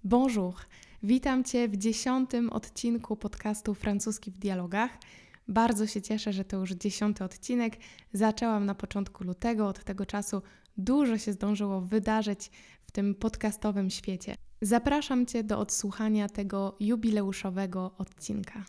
Bonjour, witam Cię w 10. odcinku podcastu Francuski w dialogach. Bardzo się cieszę, że to już 10. odcinek. Zaczęłam na początku lutego, od tego czasu dużo się zdążyło wydarzyć w tym podcastowym świecie. Zapraszam Cię do odsłuchania tego jubileuszowego odcinka.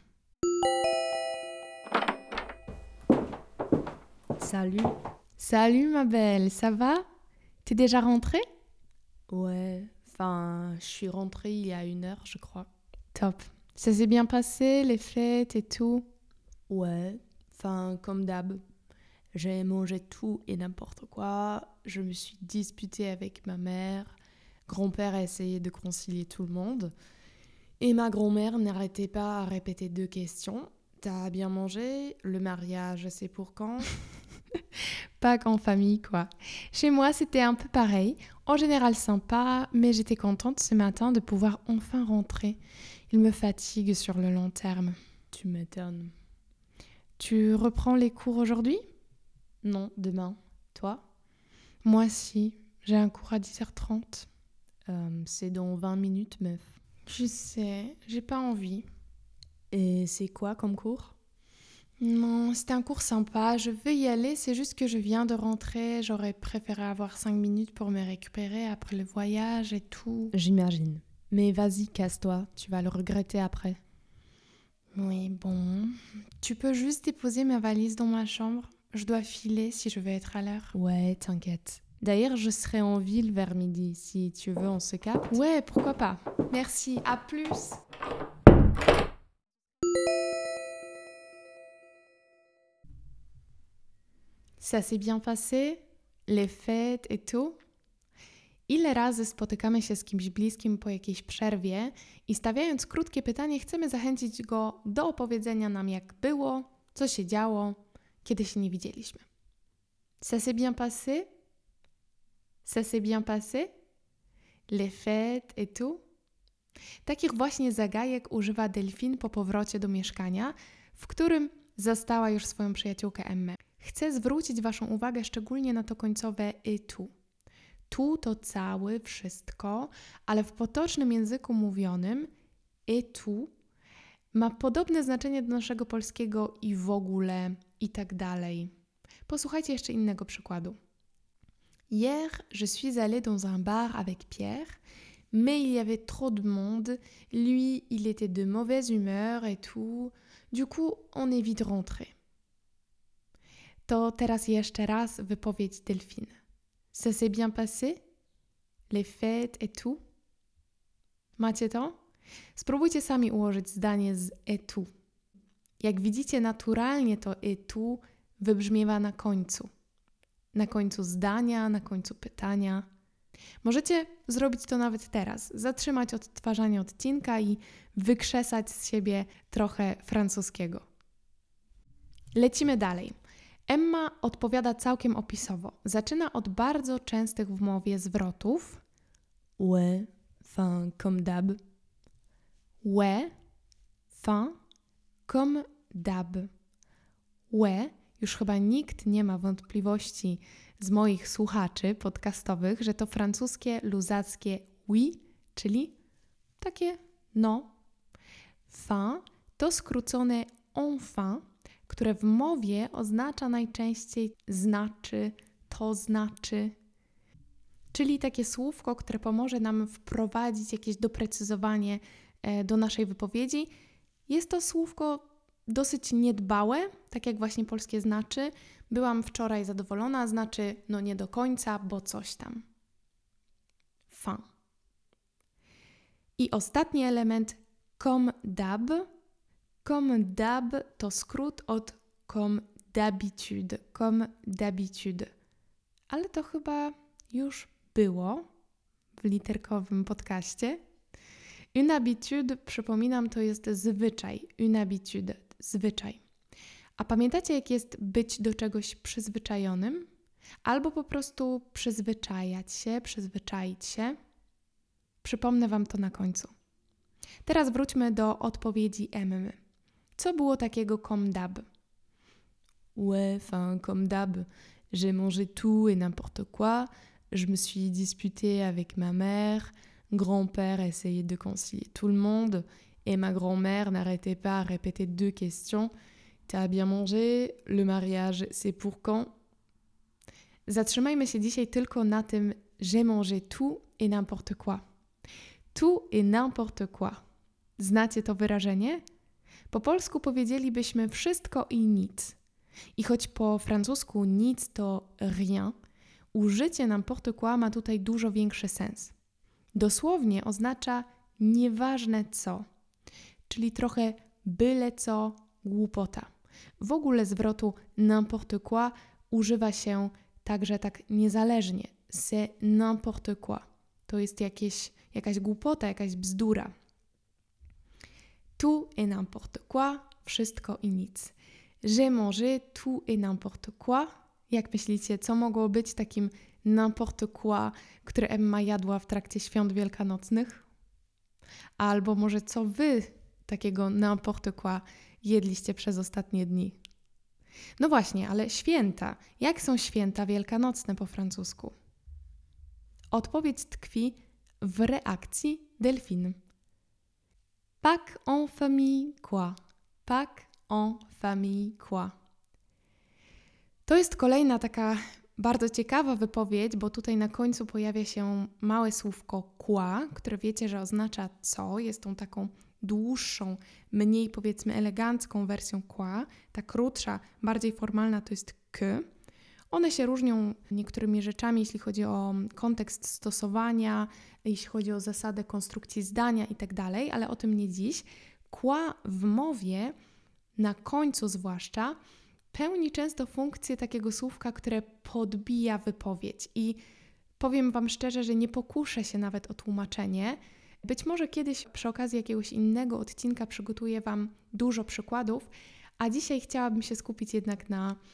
Salut. Salut ma belle, ça va? T'es déjà rentrée? Ouais, enfin, je suis rentrée il y a 1 heure, je crois. Top. Ça s'est bien passé, les fêtes et tout? Ouais, enfin, comme d'hab. J'ai mangé tout et n'importe quoi. Je me suis disputée avec ma mère. Grand-père a essayé de concilier tout le monde. Et ma grand-mère n'arrêtait pas à répéter 2 questions. T'as bien mangé? Le mariage, c'est pour quand? Pas qu'en famille, quoi. Chez moi, c'était un peu pareil. En général sympa, mais j'étais contente ce matin de pouvoir enfin rentrer. Il me fatigue sur le long terme. Tu m'étonnes. Tu reprends les cours aujourd'hui? Non, demain. Toi? Moi, si. J'ai un cours à 10h30. C'est dans 20 minutes, meuf. Je sais, j'ai pas envie. Et c'est quoi comme cours? Non, c'était un cours sympa, je veux y aller, c'est juste que je viens de rentrer, j'aurais préféré avoir 5 minutes pour me récupérer après le voyage et tout. J'imagine. Mais vas-y, casse-toi, tu vas le regretter après. Oui, bon. Tu peux juste déposer ma valise dans ma chambre? Je dois filer si je veux être à l'heure. Ouais, t'inquiète. D'ailleurs, je serai en ville vers midi. Si tu veux, on se capte. Ouais, pourquoi pas. Merci, à plus. Ça s'est bien passé? Les fêtes et tout? Ile razy spotykamy się z kimś bliskim po jakiejś przerwie i stawiając krótkie pytanie chcemy zachęcić go do opowiedzenia nam, jak było, co się działo, kiedy się nie widzieliśmy. Ça s'est bien passé? Ça s'est bien passé? Les fêtes et tout? Takich właśnie zagajek używa Delphine po powrocie do mieszkania, w którym zastała już swoją przyjaciółkę Emmę. Chcę zwrócić Waszą uwagę szczególnie na to końcowe et tout. Tu to cały, wszystko, ale w potocznym języku mówionym et tout ma podobne znaczenie do naszego polskiego i w ogóle i tak dalej. Posłuchajcie jeszcze innego przykładu. Hier, je suis allée dans un bar avec Pierre, mais il y avait trop de monde. Lui, il était de mauvaise humeur et tout. Du coup, on est vite rentré. To teraz jeszcze raz wypowiedź Delphine. Ça s'est bien passé? Les fêtes et tout? Macie to? Spróbujcie sami ułożyć zdanie z et tout. Jak widzicie, naturalnie to et tout wybrzmiewa na końcu. Na końcu zdania, na końcu pytania. Możecie zrobić to nawet teraz. Zatrzymać odtwarzanie odcinka i wykrzesać z siebie trochę francuskiego. Lecimy dalej. Emma odpowiada całkiem opisowo. Zaczyna od bardzo częstych w mowie zwrotów. Ouais, enfin, comme d'hab. Ouais, fin, comme d'hab. Ouais, już chyba nikt nie ma wątpliwości z moich słuchaczy podcastowych, że to francuskie, luzackie oui, czyli takie no. Fin to skrócone enfin, które w mowie oznacza najczęściej znaczy, to znaczy, czyli takie słówko, które pomoże nam wprowadzić jakieś doprecyzowanie do naszej wypowiedzi. Jest to słówko dosyć niedbałe, tak jak właśnie polskie znaczy. Byłam wczoraj zadowolona, znaczy no nie do końca, bo coś tam. Fin. I ostatni element comme d'hab. Comme d'hab to skrót od comme d'habitude. Comme d'habitude. Ale to chyba już było w literkowym podcaście. Une habitude, przypominam, to jest zwyczaj. Une habitude, zwyczaj. A pamiętacie, jak jest być do czegoś przyzwyczajonym? Albo po prostu przyzwyczajać się, przyzwyczaić się? Przypomnę Wam to na końcu. Teraz wróćmy do odpowiedzi Emmy. Co było takiego comme d'hab? Ouais, enfin, comme d'hab. J'ai mangé tout et n'importe quoi. Je me suis disputée avec ma mère. grand-père essayait de concilier tout le monde et ma grand-mère n'arrêtait pas à répéter 2 questions. T'as bien mangé? Le mariage, c'est pour quand? Zatrzymajmy się dzisiaj tylko na tym j'ai mangé tout et n'importe quoi. Tout et n'importe quoi. Znacie to wyrażenie? Po polsku powiedzielibyśmy wszystko i nic. I choć po francusku nic to rien, użycie n'importe quoi ma tutaj dużo większy sens. Dosłownie oznacza nieważne co, czyli trochę byle co, głupota. W ogóle zwrotu n'importe quoi używa się także tak niezależnie. C'est n'importe quoi. To jest jakaś głupota, jakaś bzdura. Tout et n'importe quoi, wszystko i nic. J'ai mangé tout et n'importe quoi. Jak myślicie, co mogło być takim n'importe quoi, które Emma jadła w trakcie świąt wielkanocnych? Albo może co wy takiego n'importe quoi jedliście przez ostatnie dni? No właśnie, ale święta. Jak są święta wielkanocne po francusku? Odpowiedź tkwi w reakcji Delphine. Pâques en famille quoi? Pâques en famille quoi? To jest kolejna taka bardzo ciekawa wypowiedź, bo tutaj na końcu pojawia się małe słówko quoi, które wiecie, że oznacza co. Jest tą taką dłuższą, mniej powiedzmy elegancką wersją quoi. Ta krótsza, bardziej formalna to jest que. One się różnią niektórymi rzeczami, jeśli chodzi o kontekst stosowania, jeśli chodzi o zasadę konstrukcji zdania itd., ale o tym nie dziś. Quoi w mowie, na końcu zwłaszcza, pełni często funkcję takiego słówka, które podbija wypowiedź. I powiem Wam szczerze, że nie pokuszę się nawet o tłumaczenie. Być może kiedyś przy okazji jakiegoś innego odcinka przygotuję Wam dużo przykładów, a dzisiaj chciałabym się skupić jednak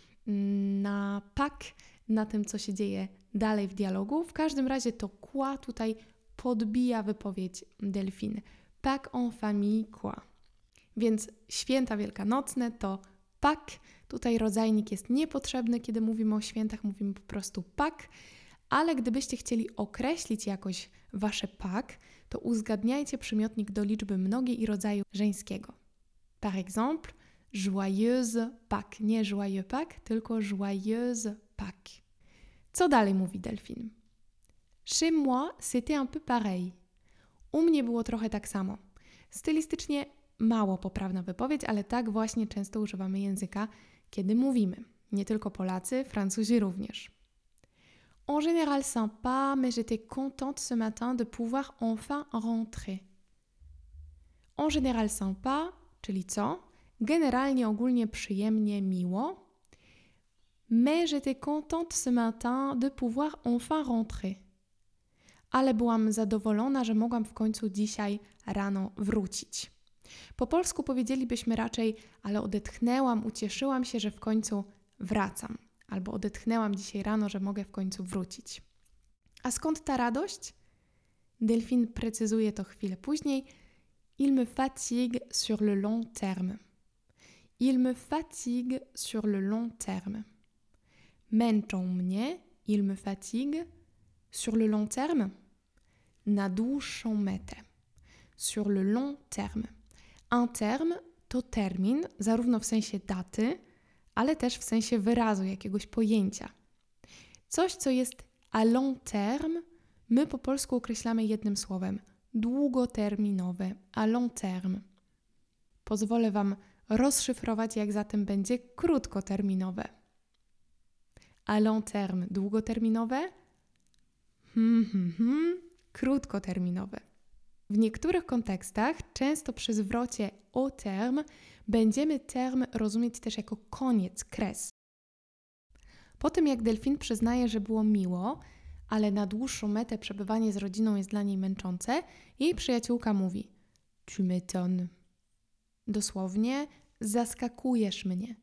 na Pâques, na tym, co się dzieje dalej w dialogu. W każdym razie to quoi tutaj podbija wypowiedź Delphine. Pâques en famille quoi. Więc święta wielkanocne to Pâques. Tutaj rodzajnik jest niepotrzebny, kiedy mówimy o świętach, mówimy po prostu Pâques, ale gdybyście chcieli określić jakoś wasze Pâques, to uzgadniajcie przymiotnik do liczby mnogiej i rodzaju żeńskiego. Par exemple, joyeuse Pâques. Nie joyeux Pâques, tylko joyeuse Pâques. Co dalej mówi Delphine? Chez moi, c'était un peu pareil. U mnie było trochę tak samo. Stylistycznie mało poprawna wypowiedź, ale tak właśnie często używamy języka, kiedy mówimy. Nie tylko Polacy, Francuzi również. En général sympa, mais j'étais contente ce matin de pouvoir enfin rentrer. En général sympa, czyli co? Generalnie, ogólnie, przyjemnie, miło. Mais j'étais contente ce matin de pouvoir enfin rentrer. Ale byłam zadowolona, że mogłam w końcu dzisiaj rano wrócić. Po polsku powiedzielibyśmy raczej, ale odetchnęłam, ucieszyłam się, że w końcu wracam. Albo odetchnęłam dzisiaj rano, że mogę w końcu wrócić. A skąd ta radość? Delphine precyzuje to chwilę później. Il me fatigue sur le long terme. Il me fatigue sur le long terme. Męczą mnie, il me fatigue, sur le long terme, na dłuższą metę. Sur le long terme. Un terme to termin, zarówno w sensie daty, ale też w sensie wyrazu, jakiegoś pojęcia. Coś, co jest à long terme, my po polsku określamy jednym słowem. Długoterminowe, à long terme. Pozwolę Wam rozszyfrować, jak zatem będzie krótkoterminowe. À long terme, długoterminowe? Krótkoterminowe. W niektórych kontekstach, często przy zwrocie au terme, będziemy term rozumieć też jako koniec, kres. Po tym jak Delphine przyznaje, że było miło, ale na dłuższą metę przebywanie z rodziną jest dla niej męczące, jej przyjaciółka mówi: Tu m'étonnes. Dosłownie, zaskakujesz mnie.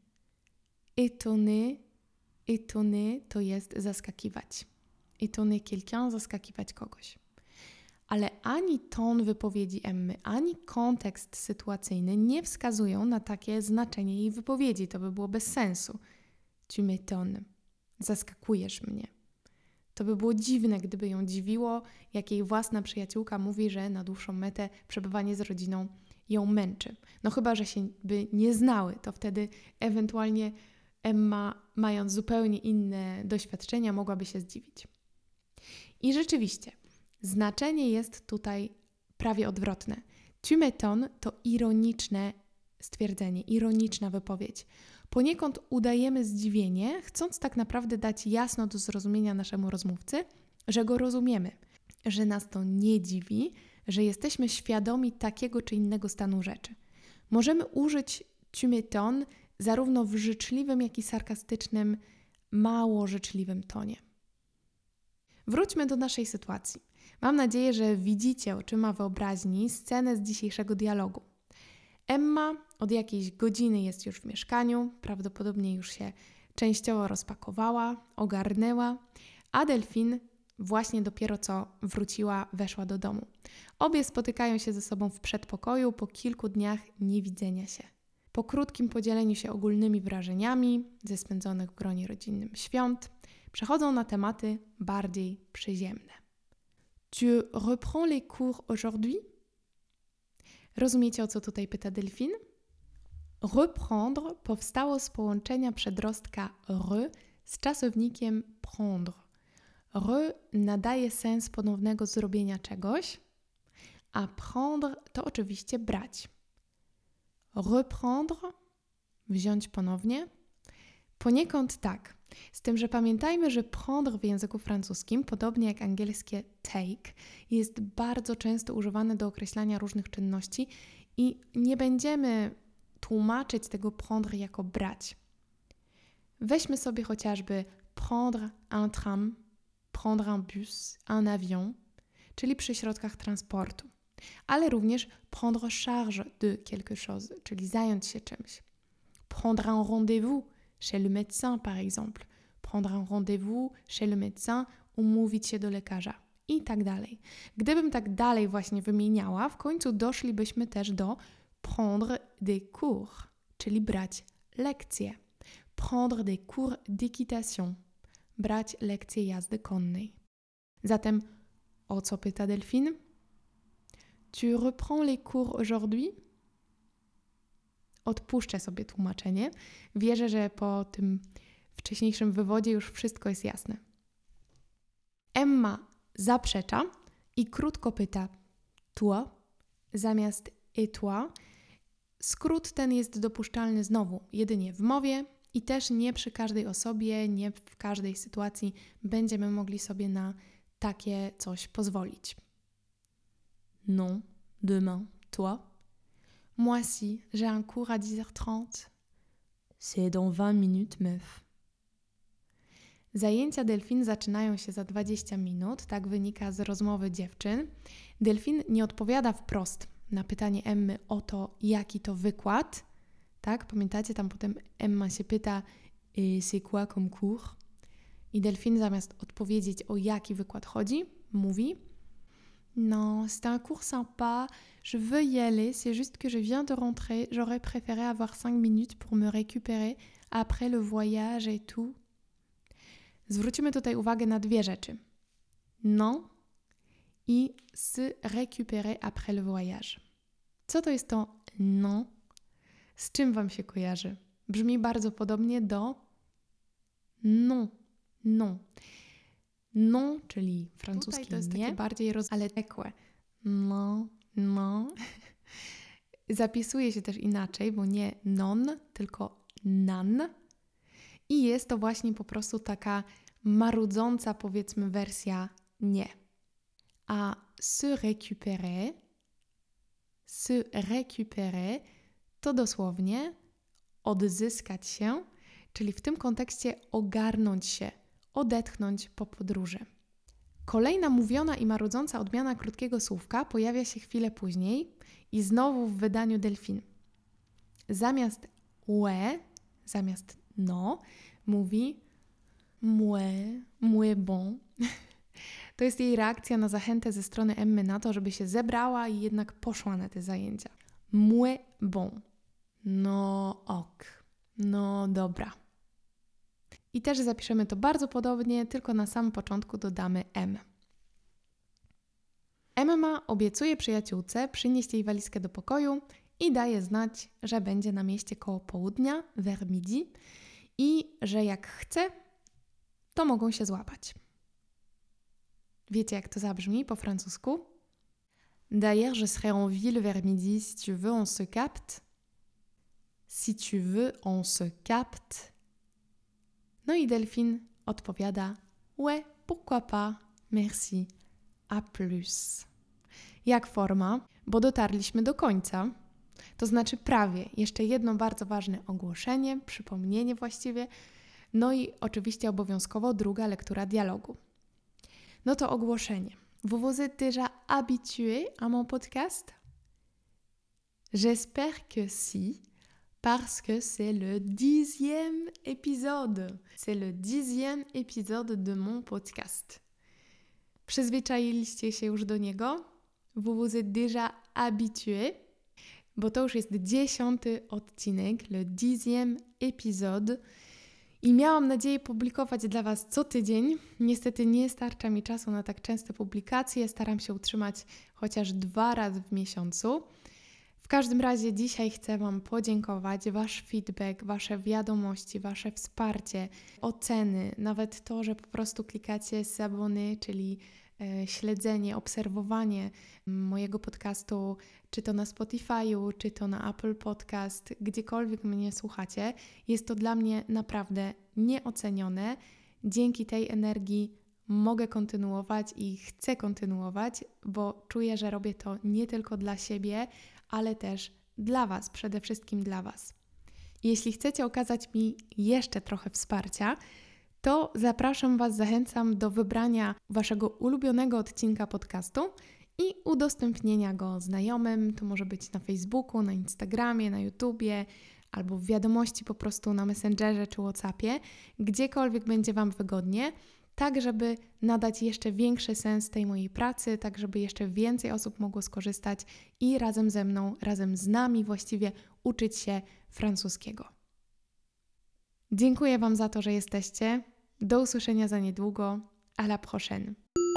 Étonner to jest zaskakiwać. Étonner quelqu'un, zaskakiwać kogoś. Ale ani ton wypowiedzi Emmy, ani kontekst sytuacyjny nie wskazują na takie znaczenie jej wypowiedzi. To by było bez sensu. Tu m'étonnes. Zaskakujesz mnie. To by było dziwne, gdyby ją dziwiło, jak jej własna przyjaciółka mówi, że na dłuższą metę przebywanie z rodziną ją męczy. No chyba, że się by nie znały, to wtedy ewentualnie Emma, mając zupełnie inne doświadczenia, mogłaby się zdziwić. I rzeczywiście, znaczenie jest tutaj prawie odwrotne. Tu m'étonnes to ironiczne stwierdzenie, ironiczna wypowiedź. Poniekąd udajemy zdziwienie, chcąc tak naprawdę dać jasno do zrozumienia naszemu rozmówcy, że go rozumiemy, że nas to nie dziwi, że jesteśmy świadomi takiego czy innego stanu rzeczy. Możemy użyć tu m'étonnes zarówno w życzliwym, jak i sarkastycznym, mało życzliwym tonie. Wróćmy do naszej sytuacji. Mam nadzieję, że widzicie oczyma wyobraźni scenę z dzisiejszego dialogu. Emma od jakiejś godziny jest już w mieszkaniu, prawdopodobnie już się częściowo rozpakowała, ogarnęła, a Delphine właśnie dopiero co wróciła, weszła do domu. Obie spotykają się ze sobą w przedpokoju po kilku dniach niewidzenia się. Po krótkim podzieleniu się ogólnymi wrażeniami ze spędzonych w gronie rodzinnym świąt, przechodzą na tematy bardziej przyziemne. Tu reprends les cours aujourd'hui? Rozumiecie, o co tutaj pyta Delphine? Reprendre powstało z połączenia przedrostka re z czasownikiem prendre. Re nadaje sens ponownego zrobienia czegoś, a prendre to oczywiście brać. Reprendre, wziąć ponownie. Poniekąd tak, z tym, że pamiętajmy, że prendre w języku francuskim, podobnie jak angielskie take, jest bardzo często używane do określania różnych czynności i nie będziemy tłumaczyć tego prendre jako brać. Weźmy sobie chociażby prendre un tram, prendre un bus, un avion, czyli przy środkach transportu, ale również prendre charge de quelque chose, czyli zająć się czymś. Prendre un rendez-vous chez le médecin, par exemple. Prendre un rendez-vous chez le médecin, umówić się do lekarza i tak dalej. Gdybym tak dalej właśnie wymieniała, w końcu doszlibyśmy też do prendre des cours, czyli brać lekcje. Prendre des cours d'équitation, brać lekcje jazdy konnej. Zatem o co pyta Delphine? Tu reprends les cours aujourd'hui? Odpuszczę sobie tłumaczenie. Wierzę, że po tym wcześniejszym wywodzie już wszystko jest jasne. Emma zaprzecza i krótko pyta toi zamiast et toi. Skrót ten jest dopuszczalny znowu jedynie w mowie i też nie przy każdej osobie, nie w każdej sytuacji będziemy mogli sobie na takie coś pozwolić. Non, demain, toi. Moi si, j'ai un cours à 10h30. C'est dans 20 minutes, meuf. Zajęcia Delphine zaczynają się za 20 minut, tak wynika z rozmowy dziewczyn. Delphine nie odpowiada wprost na pytanie Emmy o to, jaki to wykład. Tak, pamiętacie, tam potem Emma się pyta, c'est quoi comme cours? I Delphine zamiast odpowiedzieć, o jaki wykład chodzi, mówi: Non, c'est un cours sympa, je veux y aller, c'est juste que je viens de rentrer, j'aurais préféré avoir 5 minutes pour me récupérer après le voyage et tout. Zwrócimy tutaj uwagę na dwie rzeczy. Non i se récupérer après le voyage. Co to jest to non? Z czym Wam się kojarzy? Brzmi bardzo podobnie do non, non. Non, czyli francuski to jest nie, takie bardziej ale tekłe. No, no. Zapisuje się też inaczej, bo nie non, tylko nan. I jest to właśnie po prostu taka marudząca, powiedzmy, wersja nie. A se récupérer to dosłownie odzyskać się, czyli w tym kontekście ogarnąć się, odetchnąć po podróży. Kolejna mówiona i marudząca odmiana krótkiego słówka pojawia się chwilę później i znowu w wydaniu Delphine. Zamiast ouais, zamiast no, mówi mouais bon. To jest jej reakcja na zachętę ze strony Emmy na to, żeby się zebrała i jednak poszła na te zajęcia. Mouais bon. No ok, no dobra. I też zapiszemy to bardzo podobnie, tylko na samym początku dodamy M. Emma obiecuje przyjaciółce przynieść jej walizkę do pokoju i daje znać, że będzie na mieście koło południa, vers midi, i że jak chce, to mogą się złapać. Wiecie, jak to zabrzmi po francusku? D'ailleurs, je serai en ville vers midi. Si tu veux, on se capte. Si tu veux, on se capte. No i Delphine odpowiada: Ouais, pourquoi pas, merci, à plus. Jak forma, bo dotarliśmy do końca, to znaczy prawie. Jeszcze jedno bardzo ważne ogłoszenie, przypomnienie właściwie, no i oczywiście obowiązkowo druga lektura dialogu. No to ogłoszenie. Vous vous êtes déjà habitué à mon podcast? J'espère que si, parce que c'est le 10e épisode. C'est le 10e épisode de mon podcast. Przyzwyczailiście się już do niego? Vous vous êtes déjà habitué? Bo to już jest 10. odcinek, le 10e épisode. I miałam nadzieję publikować dla Was co tydzień. Niestety nie starcza mi czasu na tak częste publikacje. Staram się utrzymać chociaż 2 razy w miesiącu. W każdym razie dzisiaj chcę Wam podziękować. Wasz feedback, Wasze wiadomości, Wasze wsparcie, oceny, nawet to, że po prostu klikacie s'abonner, czyli śledzenie, obserwowanie mojego podcastu, czy to na Spotify'u, czy to na Apple Podcast, gdziekolwiek mnie słuchacie, jest to dla mnie naprawdę nieocenione. Dzięki tej energii mogę kontynuować i chcę kontynuować, bo czuję, że robię to nie tylko dla siebie, ale też dla Was, przede wszystkim dla Was. Jeśli chcecie okazać mi jeszcze trochę wsparcia, to zapraszam Was, zachęcam do wybrania Waszego ulubionego odcinka podcastu i udostępnienia go znajomym. To może być na Facebooku, na Instagramie, na YouTubie, albo w wiadomości po prostu na Messengerze czy WhatsAppie, gdziekolwiek będzie Wam wygodnie, tak żeby nadać jeszcze większy sens tej mojej pracy, tak żeby jeszcze więcej osób mogło skorzystać i razem ze mną, razem z nami właściwie uczyć się francuskiego. Dziękuję Wam za to, że jesteście. Do usłyszenia za niedługo. À la prochaine.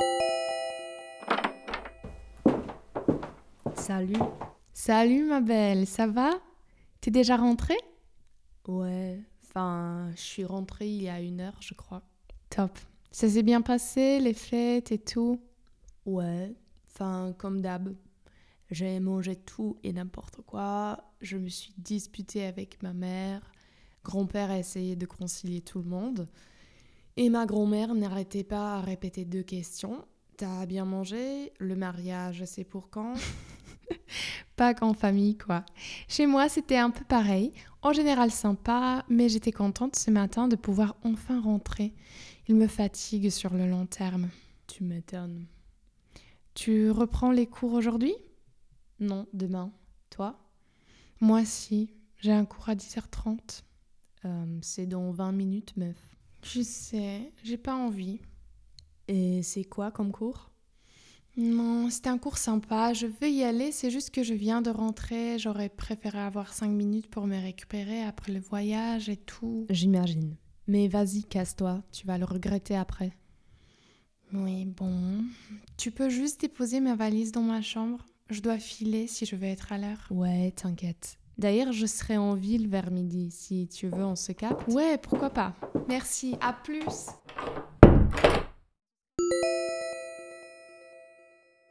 Salut. Salut ma belle, ça va? T'es déjà rentrée? Ouais, enfin, je suis rentrée il y a 1 heure, je crois. Top. Ça s'est bien passé, les fêtes et tout? Ouais, enfin, comme d'hab. J'ai mangé tout et n'importe quoi. Je me suis disputée avec ma mère. Grand-père a essayé de concilier tout le monde. Et ma grand-mère n'arrêtait pas à répéter 2 questions. T'as bien mangé? Le mariage, c'est pour quand? Pas qu'en famille, quoi. Chez moi, c'était un peu pareil. En général sympa, mais j'étais contente ce matin de pouvoir enfin rentrer. Il me fatigue sur le long terme. Tu m'étonnes. Tu reprends les cours aujourd'hui? Non, demain. Toi? Moi, si. J'ai un cours à 10h30. C'est dans 20 minutes, meuf. Je sais, j'ai pas envie. Et c'est quoi comme cours? Non, c'était un cours sympa, je veux y aller, c'est juste que je viens de rentrer, j'aurais préféré avoir 5 minutes pour me récupérer après le voyage et tout. J'imagine. Mais vas-y, casse-toi, tu vas le regretter après. Oui, bon. Tu peux juste déposer ma valise dans ma chambre? Je dois filer si je veux être à l'heure. Ouais, t'inquiète. D'ailleurs, je serai en ville vers midi. Si tu veux, on se capte. Ouais, pourquoi pas. Merci, à plus.